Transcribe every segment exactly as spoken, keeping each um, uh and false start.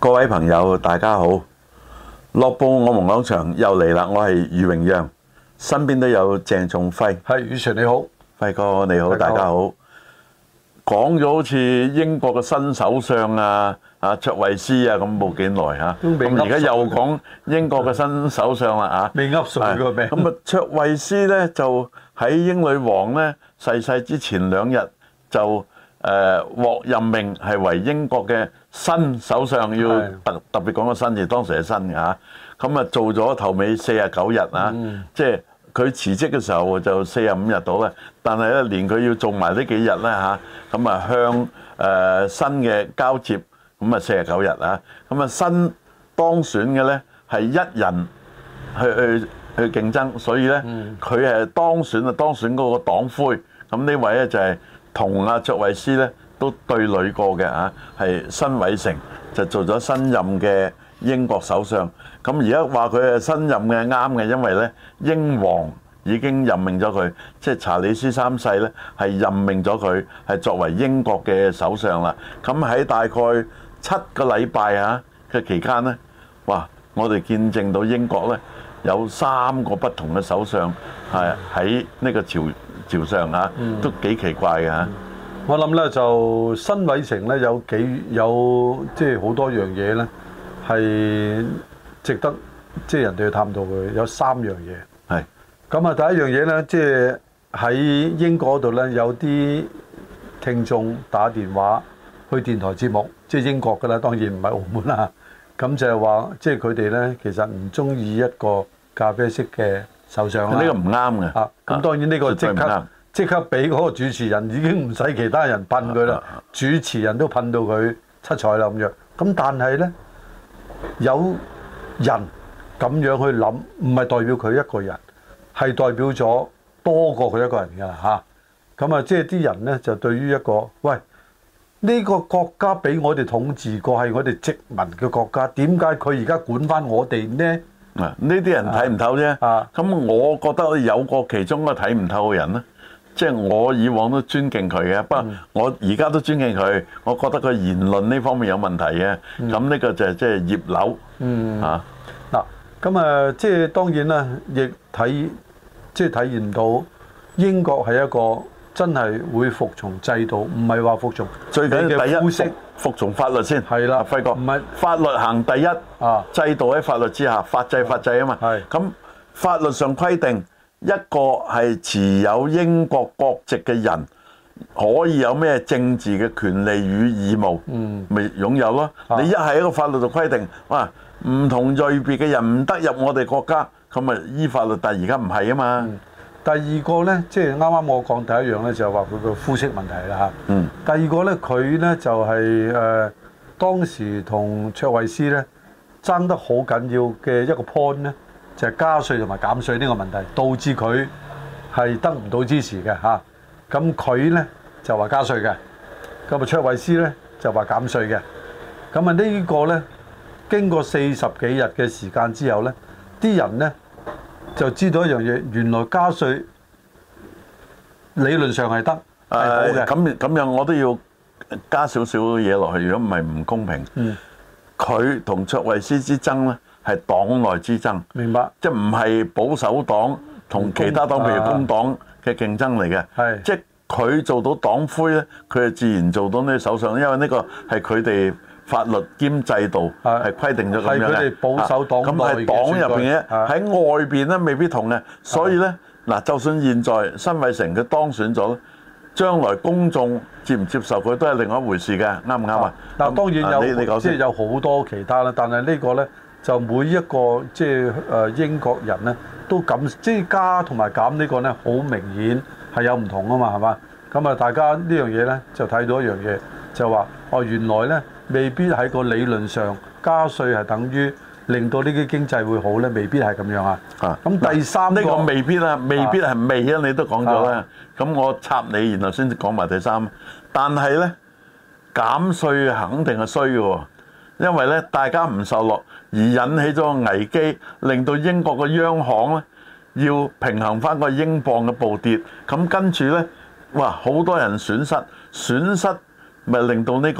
各位朋友，大家好！樂報我們講場又嚟啦，我係余榮讓，身邊都有鄭仲輝。 係，宇全你好， 輝哥你好，大家好。講咗好似英國嘅新首相啊，啊卓慧思啊咁冇幾耐嚇，咁而家又講英國嘅新首相啦啊， 未噏熟個名。 咁啊，卓慧思咧就喺英女王咧逝世之前兩日就誒獲任命係為英國嘅新首相，要特特別講個新字，當時係新嘅嚇。咁啊做咗頭尾四十九日啊，即係佢辭職嘅時候就四十五日到啦。但係咧連佢要做埋呢幾日咧嚇，咁啊向誒新嘅交接，咁啊四十九日啊。咁啊新當選嘅咧係一人去去去競爭，所以咧佢係當選啊當選嗰個黨魁。咁呢位咧就係同阿卓慧思咧都對壘過嘅嚇，係辛偉誠就做咗新任嘅英國首相。咁而家話佢係新任嘅啱嘅，因為咧英皇已經任命咗佢，即係查理斯三世咧係任命咗佢係作為英國嘅首相啦。咁喺大概七個禮拜嚇嘅期間咧，哇！我哋見證到英國咧有三個不同嘅首相係喺呢個朝朝上嚇，都幾奇怪嘅嚇。 我諗咧就辛偉誠咧有幾有即係好多樣嘢咧係值得即係人哋去探討佢。有三樣嘢係咁啊。第一樣嘢咧，即係喺英國度咧有啲聽眾打電話去電台節目，即係英國㗎啦，當然唔係澳門啦。咁就係話，即係佢哋咧其實唔中意一個咖啡色嘅首相啦。 呢個唔啱嘅啊。咁當然呢個即刻。即刻俾嗰個主持人已經唔使其他人噴佢啦，主持人都噴到佢七彩啦咁樣。咁但係呢，有人咁樣去諗，唔係代表佢一個人，係代表咗多過佢一個人㗎啦嚇。咁啊，即係啲人呢，就對於一個喂呢個國家俾我哋統治過係我哋殖民嘅國家，點解佢而家管翻我哋呢？ 啊，呢啲人睇唔透啫。啊，咁我覺得有個其中一個睇唔透嘅人呢。即係我以往都尊敬佢嘅，不過我而家都尊敬佢。我覺得佢言論呢方面有問題嘅。咁呢個就係即係葉劉嚇嗱。咁啊，即係當然啦，亦睇即係體現到英國係一個真係會服從制度，唔係話服從最緊要第一服服從法律先係啦。輝哥，唔係法律行第一啊，制度喺法律之下，法制法制啊嘛。係咁，法律上規定。一個係持有英國國籍嘅人，可以有咩政治嘅權利與義務，咪擁有咯。你一係一個法律度規定，哇，唔同類別嘅人唔得入我哋國家，咁咪依法律。但係而家唔係啊嘛。第二個呢，即係啱啱我講第一樣呢，就係話佢個膚色問題啦嚇。嗯。第二個呢，佢呢就係誒當時同卓慧思呢爭得好緊要嘅一個 point 呢。就係加稅同埋減稅呢個問題，導致佢係得唔到支持嘅嚇。咁佢呢就話加稅嘅，咁啊卓慧思呢就話減稅嘅。咁啊呢個呢經過四十幾日嘅時間之後呢，啲人呢就知道一樣嘢，原來加稅理論上係得，係好嘅。 咁咁樣我都要加少少嘢落去，如果唔係唔公平。嗯。佢同卓慧思之爭呢，係黨內之爭，明白？即係唔係保守黨同其他黨，譬如工黨嘅競爭嚟嘅。係，即係佢做到黨魁咧，佢就自然做到呢個首相，因為呢個係佢哋法律兼制度係規定咗咁樣嘅。係佢哋保守黨內嘅選舉。咁係黨入邊嘅，喺外邊咧未必同嘅。所以咧嗱，就算現在辛偉誠佢當選咗，將來公眾接唔接受佢都係另外一回事嘅，啱唔啱啊？ 嗱，當然有，即係有好多其他啦，但係呢個咧。就每一個即係誒英國人咧，都咁即係加同埋減呢個咧，好明顯係有唔同啊嘛，係嘛？咁啊，大家呢樣嘢咧就睇到一樣嘢，就話哦，原來咧未必喺個理論上加稅係等於令到呢啲經濟會好咧，未必係咁樣啊。啊，咁第三呢個未必啊，未必係未啊，你都講咗啦。咁我插你，然後先講埋第三。但係咧減稅肯定係衰嘅喎。因為咧，大家唔受落而引起咗個危機，令到英國嘅央行咧要平衡翻個英鎊嘅暴跌，咁跟住咧，哇，好多人損失，損失咪令到呢個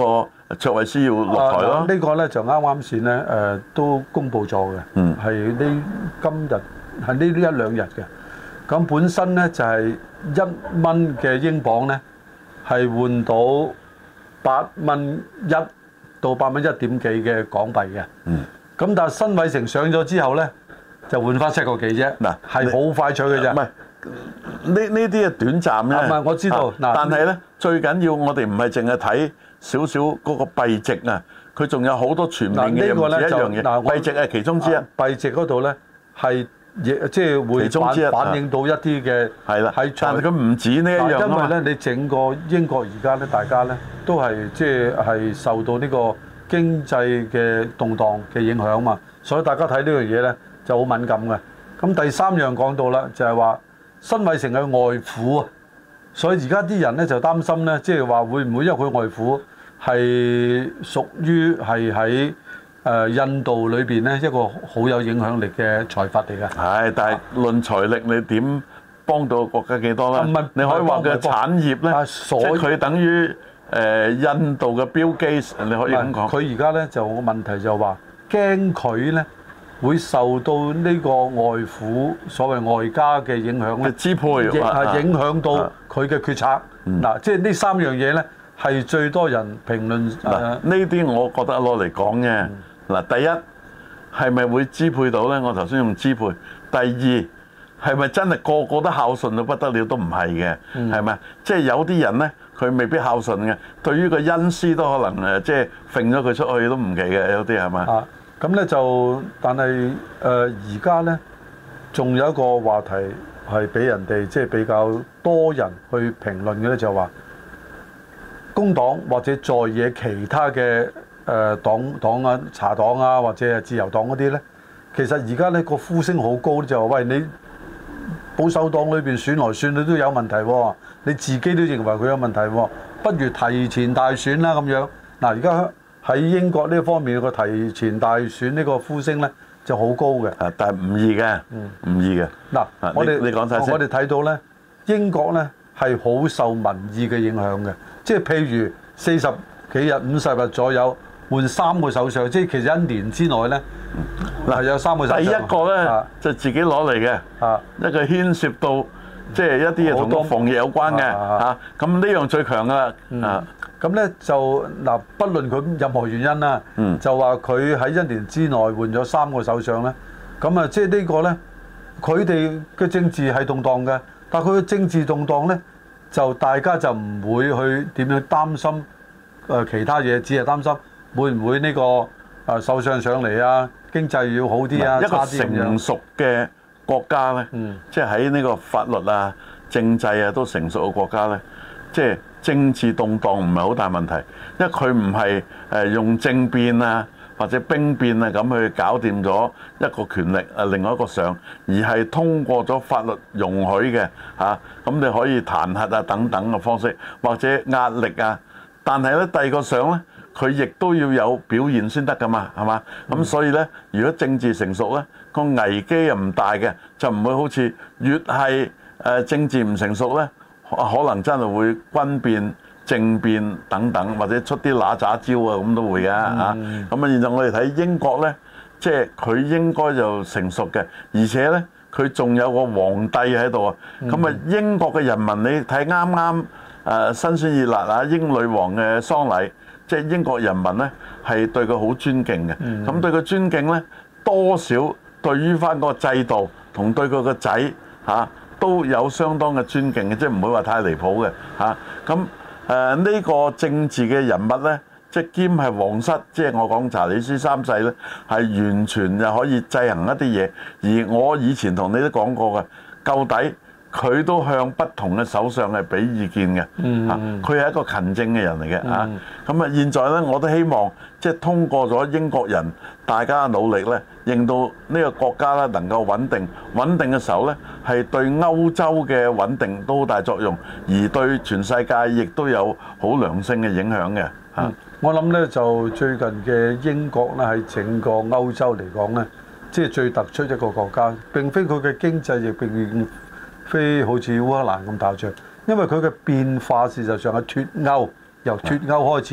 卓慧思要落台咯。 啊這個、呢個咧就啱啱先咧誒都公佈咗嘅，係呢、嗯、今日係呢一兩日嘅。咁本身咧就係一蚊嘅英鎊咧係換到八蚊一到八蚊一點幾嘅港幣嘅。嗯。咁但係辛偉誠上咗之後咧就換翻七個幾啫。嗱，係好快脆嘅啫。唔係。 呢呢啲係短暫咧， 唔係我知道。 啊、但係咧最緊要我哋唔係淨係睇少少嗰個幣值啊，佢仲有好多全面嘅嘢唔止一樣嘢。幣值係其中之一。幣值嗰度咧係亦即係會反反映到一啲嘅係啦，係但係佢唔止呢一樣啊嘛。因為咧你整個英國而家咧大家咧都係即係係受到呢個經濟嘅動盪嘅影響嘛，所以大家睇呢樣嘢咧就好敏感嘅。咁第三樣講到啦，就係話。辛偉誠嘅外父啊，所以而家啲人咧就擔心咧，即係話會唔會因為佢外父係屬於係喺誒印度裏邊咧一個好有影響力嘅財閥嚟㗎。係，但係論財力你點幫到國家幾多咧？你可以話佢產業咧，即係佢等於誒印度嘅 Bill Gates，你可以咁講。佢而家咧就個問題就話驚佢咧。會受到呢個外父所謂外家嘅影響咧，支配，亦係影響到佢嘅決策。嗱、嗯，即係呢三樣嘢咧，係最多人評論。嗱、嗯，呢啲我覺得攞嚟講嘅。嗱、嗯，第一係咪會支配到咧？我頭先用支配。第二係咪真係個個都孝順到不得了？都唔係嘅，係咪、嗯？即係有啲人咧，佢未必孝順嘅。對於個恩師都可能誒，即係揈咗佢出去都唔奇嘅。有啲係咪？啊咁咧就，但係誒而家咧，仲有一個話題係俾人哋即係比較多人去評論嘅咧，就係話工黨或者在野其他嘅誒黨黨啊、茶黨啊或者係自由黨嗰啲咧，其實而家咧個呼聲好高，就話喂，你保守黨裏邊選來選去都有問題喎，你自己都認為佢有問題喎，不如提前大選啦咁樣。嗱而家。喺英國呢方面個提前大選呢個呼聲咧就好高嘅，啊，但係唔易嘅，唔、嗯、易嘅。嗱、啊，我哋你講晒先，我哋睇到咧，英國咧係好受民意嘅影響嘅，即係譬如四十幾日、五十日左右換三個首相，即係其實一年之內咧，嗱、嗯、有三個首相。第一個咧、啊、就自己攞嚟嘅，啊，一個牽涉到即係一啲嘢同個防疫有關嘅，嚇，咁呢樣最強噶啦，嗯、啊。咁咧就嗱，不論佢任何原因啦，嗯、就話佢喺一年之內換咗三個首相咧，咁啊，即係呢個咧，佢哋嘅政治係動盪嘅，但係佢嘅政治動盪咧，就大家就唔會去點樣擔心誒其他嘢，只係擔心會唔會呢個誒首相上嚟啊，經濟要好啲啊，一個成熟嘅國家咧，即係喺呢個法律啊、政制啊都成熟嘅國家咧，即係。政治動盪唔係好大問題，因為佢唔係誒用政變啊或者兵變啊咁去搞掂咗一個權力啊另外一個上，而係通過咗法律容許嘅嚇，咁你可以彈劾啊等等嘅方式，或者壓力啊。但係咧第二個上咧，佢亦都要有表現先得噶嘛，係嘛？咁、嗯、所以咧，如果政治成熟咧，個危機又唔大嘅，就唔會好似越係誒政治唔成熟咧。可能真係會軍變、政變等等，或者出啲揦喳招啊，咁都會嘅嚇。咁啊，現在我哋睇英國呢，即係佢應該就成熟嘅，而且呢，佢仲有個皇帝喺度啊。咁啊，英國嘅人民你睇啱啱誒新鮮熱辣啊，英女王嘅喪禮，即係英國人民呢係對佢好尊敬嘅。咁對佢尊敬呢，多少對於翻個制度同對佢個仔嚇。都有相當嘅尊敬嘅，即係唔會話太離譜嘅嚇。咁誒呢個政治嘅人物呢，即係兼係皇室，即係我講查理斯三世呢，係完全就可以制衡一啲嘢。而我以前同你都講過嘅，究底佢都向不同嘅首相係俾意見嘅嚇。佢係一個勤政嘅人嚟嘅嚇。咁啊，現在呢，我都希望即係通過咗英國人大家嘅努力呢，令到呢個國家咧能夠穩定，穩定嘅時候咧，係對歐洲嘅穩定都好大作用，而對全世界亦都有好良性嘅影響嘅嚇、嗯。我諗咧就最近嘅英國咧喺整個歐洲嚟講咧，即係最突出一個國家。並非佢嘅經濟亦並非好似烏克蘭咁大隻，因為佢嘅變化事實上係脫歐，由脫歐開始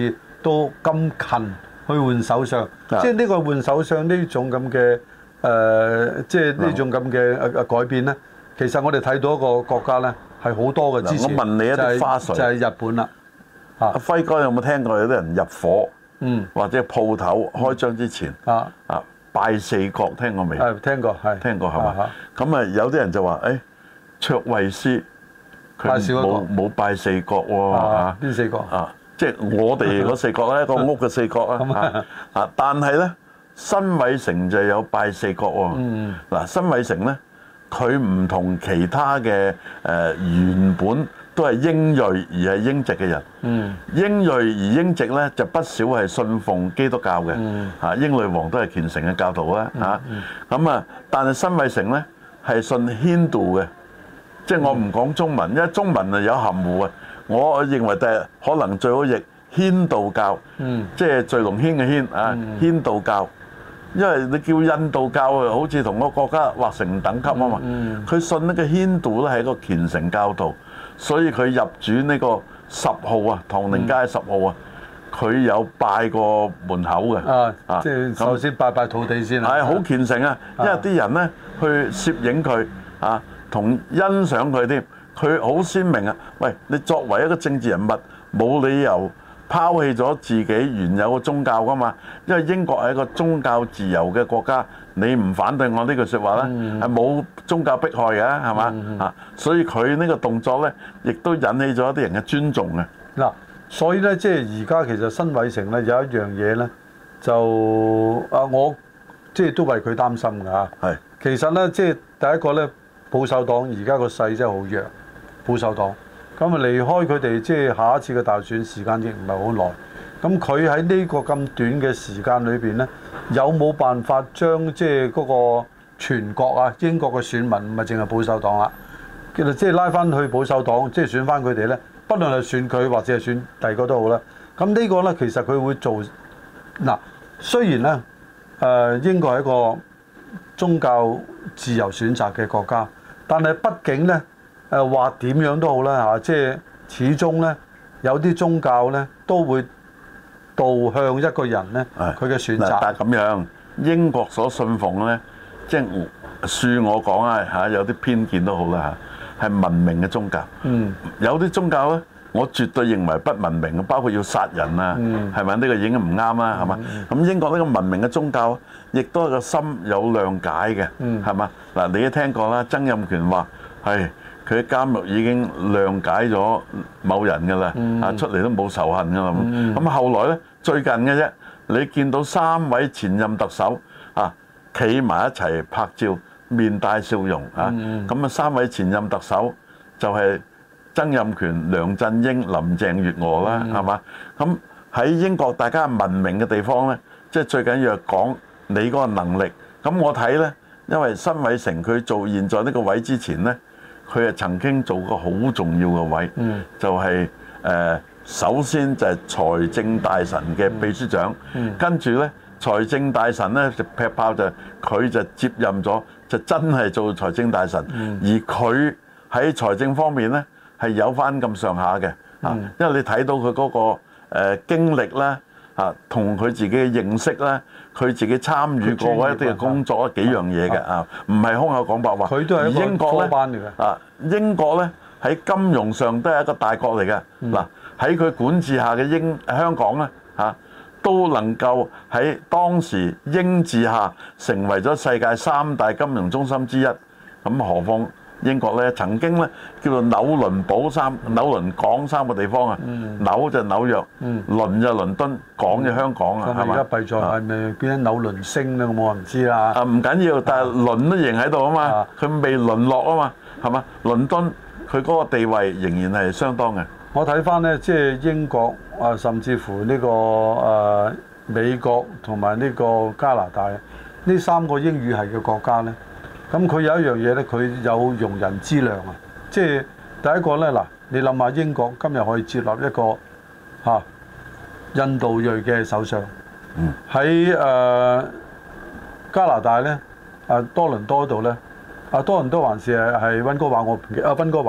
到咁近去換首相，即係呢個換首相呢種咁嘅誒，即係呢種咁嘅誒誒改變咧。其實我哋睇到一個國家咧係好多嘅支持， 我問你一啲花絮， 就係、是、日本啦。 阿輝哥有冇聽過有啲人入伙， 嗯， 或者鋪頭開張之前啊啊拜四角，聽過未？ 係聽過，係聽過係嘛？咁啊有啲人就話誒卓慧思佢冇冇拜四角喎嚇？ 邊四角啊？即係我哋嗰四角咧，一個屋嘅四角啊啊！但係咧辛偉誠就有拜四角喎。嗯嗱，辛偉誠咧佢唔同其他嘅誒原本都係英裔而係英籍嘅人。嗯，英裔而英籍咧就不少係信奉基督教嘅。嗯，嚇英女王都係虔誠嘅教徒啦。嚇咁啊，但係辛偉誠咧係信軒道嘅，即係我唔講中文，因為中文啊有含糊啊。我認為第日可能最好譯軒道教，嗯、即係聚龍軒嘅軒啊，嗯、軒道教。因為你叫印度教啊，好似同個國家劃成等級啊嘛。佢、嗯嗯、信呢個軒道咧係一個虔誠教徒，所以佢入主呢個十號啊，唐寧街十號啊，佢、嗯、有拜過門口嘅。啊， 啊即係首先拜拜土地先啊。 係好虔誠啊，因為啲人咧去攝影佢啊，同欣賞佢添。佢好鮮明啊！喂，你作為一個政治人物，冇理由拋棄咗自己原有嘅宗教㗎嘛？因為英國係一個宗教自由嘅國家，你唔反對我呢句説話咧，係冇、嗯、宗教迫害嘅，係嘛？嗯、啊，所以佢呢個動作咧，亦都引起咗一啲人嘅尊重嘅。 嗱，所以咧，即係而家其實辛偉誠咧有一樣嘢咧，就啊，我即係都為佢擔心㗎嚇。係是，其實咧，即係第一個咧，保守黨而家個勢真係好弱。保守黨咁啊，離開佢哋，即係下一次嘅大選時間亦唔係好耐。咁佢喺呢個咁短嘅時間裏邊咧，有冇辦法將即係嗰個全國啊英國嘅選民唔係淨係保守黨啦，其實即係拉翻去保守黨，即係選翻佢哋咧，不論係選佢或者係選第二個都好啦。咁呢個咧其實佢會做嗱，雖然咧誒英國係一個宗教自由選擇嘅國家，但係畢竟咧。誒話點樣都好啦嚇，即係始終咧有啲宗教咧都會導向一個人咧佢嘅選擇。 但係咁樣，英國所信奉咧，即係恕我講啊嚇，有啲偏見都好啦嚇，係文明嘅宗教。嗯，有啲宗教咧，我絕對認為不文明嘅，包括要殺人啊，係咪呢個已經唔啱啦？係嘛？咁英國呢個文明嘅宗教，亦都係個心有諒解嘅，係嘛？嗱，你都聽過啦，曾蔭權話係。佢喺監獄已經諒解咗某人㗎啦，啊、嗯、出嚟都冇仇恨㗎啦。咁、嗯、後來咧最近嘅啫，你見到三位前任特首啊企埋一齊拍照，面帶笑容啊。咁啊、嗯、三位前任特首就係曾蔭權、梁振英、林鄭月娥啦，係嘛、嗯？咁喺英國大家文明嘅地方咧，即係最緊要係講你嗰個能力。咁我睇咧，因為辛偉誠佢做現在呢個位之前咧。佢係曾經做過好重要嘅位，嗯、就係、是、誒、呃、首先就係財政大臣嘅秘書長，嗯嗯、跟住咧財政大臣咧就劈炮就佢就接任咗，就真係做財政大臣，嗯、而佢喺財政方面咧係有翻咁上下嘅，啊，嗯、因為你睇到佢嗰、那個誒、呃、經歷咧。啊，同佢自己嘅認識咧，佢自己參與過一啲嘅工作幾樣嘢嘅啊，唔係空口講白話。佢都係一個科班嚟嘅。啊，英國咧喺金融上都係一個大國嚟嘅。嗱，喺佢管治下嘅英香港咧嚇，都能夠喺當時英治下成為咗世界三大金融中心之一。咁何況英國咧曾經咧叫做紐倫堡三紐倫港三個地方啊，紐就紐約，倫就倫敦，港就香港啊，係嘛？咁而家弊在係咪變咗紐倫星咧？我唔知啦。啊，唔緊要，但係倫都仍喺度啊嘛，佢未淪落啊嘛，係嘛？倫敦佢嗰個地位仍然係相當嘅。我睇翻咧，即係英國啊，甚至乎呢個誒美國同埋呢個加拿大呢三個英語系嘅國家咧。咁佢有一樣嘢咧，佢有容人之量啊！即係第一個咧，嗱，你諗下英國今日可以接納一個嚇、啊、印度裔嘅首相，喺誒、呃、加拿大咧，啊多倫多度咧，啊多倫多還是係係溫哥華，我唔記得啊溫哥華，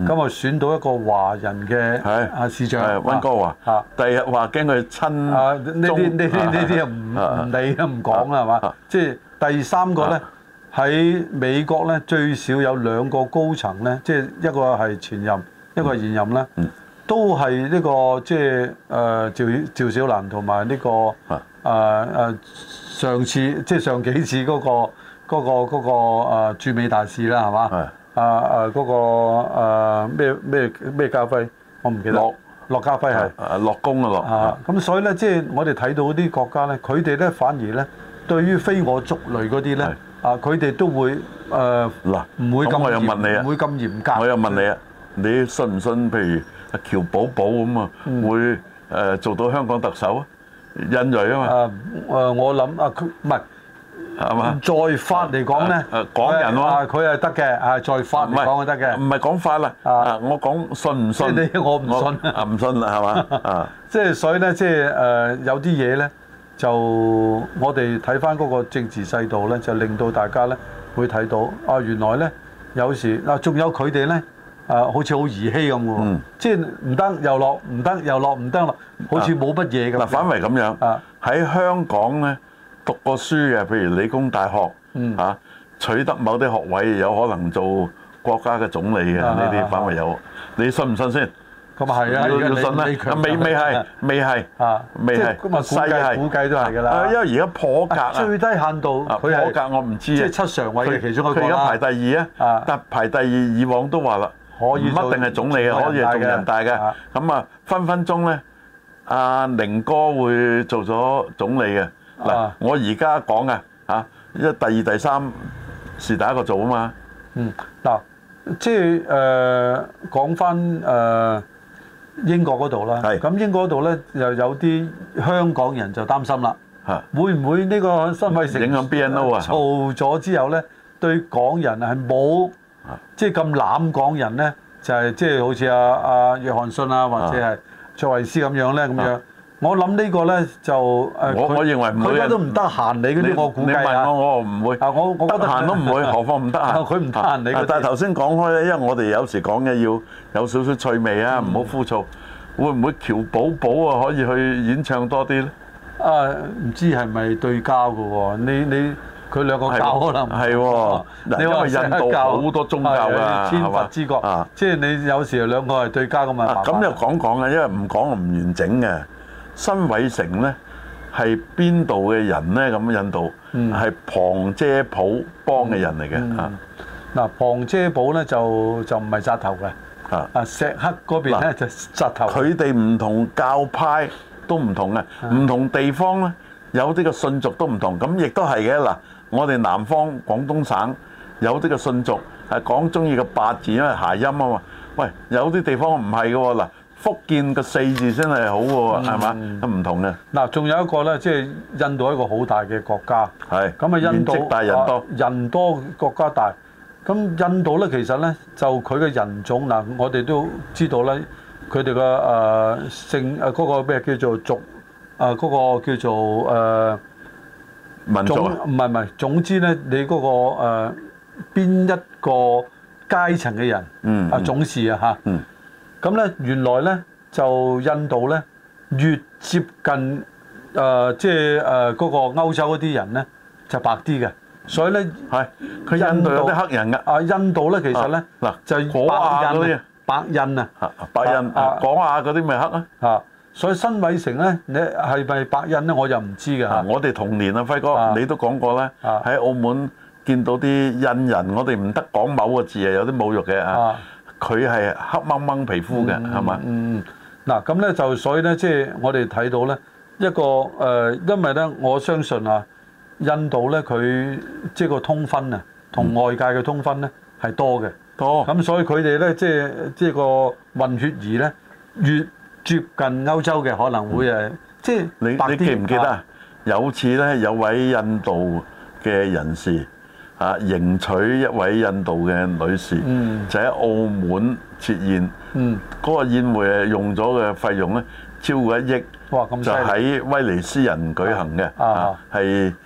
咁啊選到一個華人嘅啊市長溫哥華。啊，第日話驚佢親啊呢啲呢啲呢啲唔唔理都唔講啦係嘛？即係第三個咧喺美國咧最少有兩個高層咧，即係一個係前任，一個係現任咧，都係呢個即係誒趙趙小蘭同埋呢個誒誒上次即係上幾次嗰個嗰個嗰個誒駐美大使啦係嘛？啊啊嗰個誒咩咩咩家輝，我唔記得。駱駱家輝係。啊駱公啊駱。 啊咁所以咧，即係我哋睇到啲國家咧，佢哋咧反而咧對於非我族類嗰啲咧，啊佢哋都會誒嗱唔會咁我又問你啊， 唔會咁嚴格。 我又問你啊，你信唔信？譬如阿喬寶寶咁啊，會誒做到香港特首啊？印裔啊嘛。啊誒，我諗啊，佢唔係。 係嘛？ 在法嚟講咧， 誒港人喎， 佢係得嘅，係在法嚟講係得嘅。 唔係講法啦，啊，我講信唔信？ 即係你我唔信啊，唔信啦，係嘛？啊， 即係所以咧，即係誒有啲嘢咧，就我哋睇翻嗰個政治制度咧，就令到大家咧會睇到啊，原來咧有時嗱，仲有佢哋咧誒，好似好兒戲咁喎，即係唔得又落，唔得又落，唔得落，好似冇乜嘢咁。 嗱，反為咁樣啊，喺香港咧。讀過書嘅，譬如理工大學嚇、嗯啊，取得某啲學位，有可能做國家嘅總理嘅，呢啲反為有。你信唔信先？ 咁啊係啊， 要要信啦。未未係，未係，未係。 咁啊，估計估計都係㗎啦。 因為而家破格啊， 最低限度佢破格我唔知啊。 即係七常委嘅其中一個啦。 佢而家排第二啊，但排第二以往都話啦，唔一定係總理嘅，可以係做人大嘅。咁啊，分分鐘咧，阿寧哥會做咗總理嘅。嗱、啊，我而家講嘅嚇，因為第二、第三是第一個做啊嘛。 嗯，嗱，即係誒講翻誒英國嗰度啦。係。咁英國嗰度咧，又有啲香港人就擔心啦。嚇。會唔會呢個辛偉誠影響 B N O 啊？ 做咗之後咧，對港人係冇即係咁攬港人咧，就係即係好似阿阿約翰遜啊，或者係卓慧思咁樣咧，咁樣。我諗呢個咧就誒， 我我認為唔會， 佢都唔得閒你嗰啲，我估計啊。 你問我，我唔會。 啊，我我覺得閒都唔會，何況唔得閒。 佢唔得閒你嗰啲。 但係頭先講開咧，因為我哋有時講嘅要有少少趣味啊，唔好枯燥。會唔會喬寶寶啊可以去演唱多啲咧？ 啊，唔知係咪對交嘅喎？你你佢兩個教可能係喎。因為印度好多宗教㗎， 天佛之國啊，即係你有時兩個係對交咁啊。 咁又講講啊，因為唔講唔完整嘅。辛偉誠咧係邊度嘅人咧？咁印度係旁遮普邦嘅人嚟嘅嚇。 嗱，旁遮普咧就就唔係紮頭嘅。啊啊，錫克嗰邊咧就紮頭。 佢哋唔同教派都唔同嘅，唔同地方咧有啲嘅信俗都唔同。咁亦都係嘅嗱，我哋南方廣東省有啲嘅信俗係講中意個八字，因為諧音啊嘛。喂，有啲地方唔係嘅喎嗱。福建個四字真係好喎，係嘛？都唔同嘅。嗱， 仲有一個咧，即係印度一個好大嘅國家。 係。 咁啊，印度面積大人多。 人多國家大。咁印度咧，其實咧就佢嘅人種嗱，我哋都知道咧，佢哋嘅誒姓誒嗰個咩叫做族誒嗰個叫做誒民族啊？ 唔係唔係，總之咧，你嗰個誒邊一個階層嘅人，嗯啊種氏啊嚇。嗯。咁咧，原來咧就印度咧越接近誒，即係誒嗰個歐洲嗰啲人咧就白啲嘅，所以咧係佢印度有啲黑人嘅。 啊，印度咧其實咧嗱就果亞嗰啲白印啊， 白印啊，果亞嗰啲咪黑啊嚇。所以辛偉誠咧，你係咪白印咧？我就唔知嘅嚇。 我哋童年啊，輝哥，你都講過咧，喺澳門見到啲印人，我哋唔得講某個字啊，有啲侮辱嘅啊。佢係黑掹掹皮膚嘅，係嘛？ 嗯，嗱咁咧就所以咧，即係我哋睇到咧一個誒，因為咧我相信啊，印度咧佢即係個通婚啊，同外界嘅通婚咧係多嘅， 多。 咁所以佢哋咧即係即係個混血兒咧越接近歐洲嘅可能會誒，即係你你記唔記得啊？有次咧有位印度嘅人士。啊！迎娶一位印度嘅女士，嗯、就喺澳門設宴。嗰、嗯、個宴會誒用咗嘅費用咧超過一億， 哇！咁就喺威尼斯人舉行嘅，係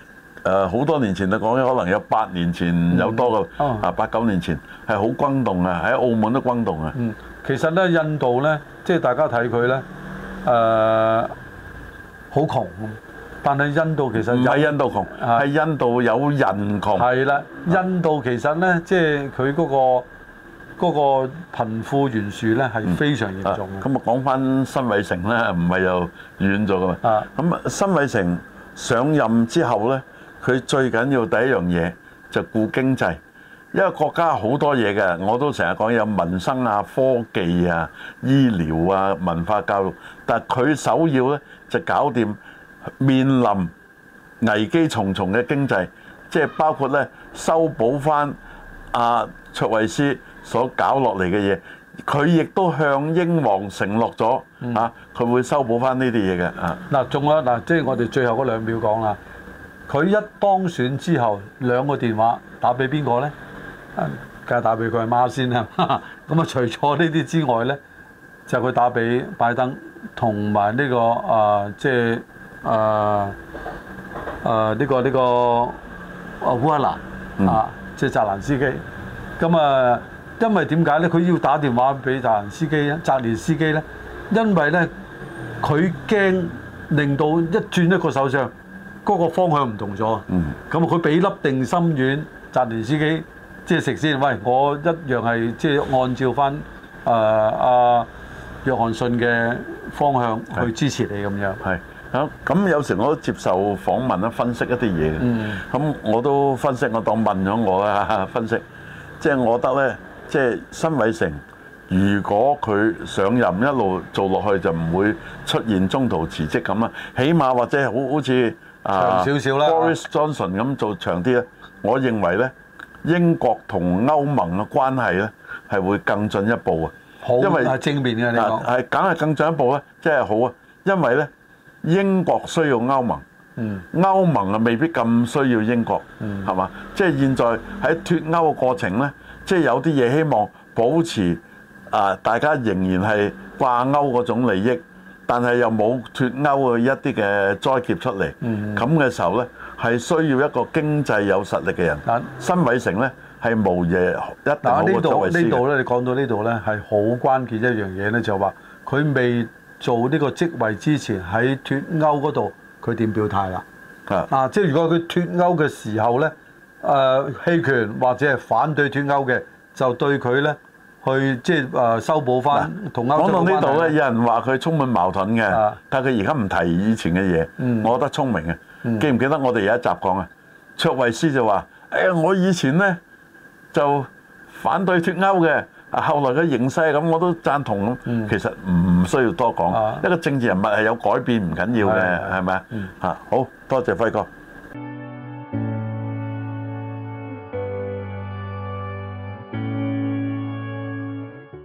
誒好多年前就講可能有八年前有多個、嗯哦、啊八九年前係好轟動啊，喺澳門都轟動啊。 嗯，其實咧印度咧，即係大家睇佢咧誒好窮，但係印度其實唔係印度窮，係、啊、印度有人窮。 係啦，印度其實咧即係佢嗰個。嗰個貧富懸殊咧係非常嚴重嘅。 咁啊講翻辛偉誠咧，唔係又遠咗噶嘛。咁啊，辛偉誠上任之後咧，佢最緊要第一樣嘢就顧經濟，因為國家好多嘢嘅，我都成日講有民生啊、科技啊、醫療啊、文化教育，但係佢首要咧就搞掂面臨危機重重嘅經濟，即係包括咧修補翻阿卓慧思所搞落嚟嘅嘢，佢亦都向英皇承諾咗嚇，佢會修補翻呢啲嘢嘅啊。嗱， 仲有嗱，即係我哋最後嗰兩秒講啦。佢一當選之後，兩個電話打俾邊個咧？梗係打俾佢阿媽先啦。咁啊，除咗呢啲之外咧，就佢打俾拜登同埋呢個啊，即係啊啊呢個呢個啊烏克蘭啊，即係澤連斯基。咁啊。因為點解咧？佢要打電話俾澤連斯基咧，澤連斯基咧，因為咧佢驚令到一轉一個首相，嗰、那個方向唔同咗。嗯。咁佢俾粒定心丸，澤連斯基即係食先。喂，我一樣係即係按照翻誒阿約翰遜嘅方向去支持你咁樣。 係。咁咁有時我都接受訪問啦，分析一啲嘢嘅。嗯。咁我都分析，我當問咗我啦，分析。即係我覺得咧。即係辛偉誠，如果佢上任一路做落去，就唔會出現中途辭職咁啦。起碼或者好好似啊長少少啦 Boris Johnson 咁做長啲咧。我認為咧，英國同歐盟嘅關係咧係會更進一步啊。 好，因為係正面嘅你講係梗係更進一步咧，即係好啊。因為咧，英國需要歐盟，嗯，歐盟啊未必咁需要英國，嗯，係嘛？即係現在喺脫歐嘅過程咧。即係有啲嘢希望保持啊，大家仍然係掛鈎嗰種利益，但係又冇脫歐嘅一啲嘅災劫出嚟。咁嘅、嗯、時候呢，係需要一個經濟有實力嘅人。但辛偉誠呢，係無嘢一定好過卓慧思嘅。 呢度呢，你講到呢度呢，係好關鍵一樣嘢呢，就話佢未做呢個職位之前喺脫歐嗰度，佢點表態啦？啊，啊，即係如果佢脫歐嘅時候呢。誒棄權或者係反對脫歐嘅，就對佢咧去即係誒修補翻同歐洲關係。講到呢度咧，有人話佢充滿矛盾嘅，啊、但係佢而家唔提以前嘅嘢，嗯、我覺得聰明嘅。嗯、記唔記得我哋有一集講啊？卓慧思就話：誒、哎、我以前咧就反對脫歐嘅，啊後來嘅形勢咁我都贊同咁。嗯、其實唔需要多講，啊、一個政治人物係有改變唔緊要嘅，係咪啊？嚇，好多謝輝哥。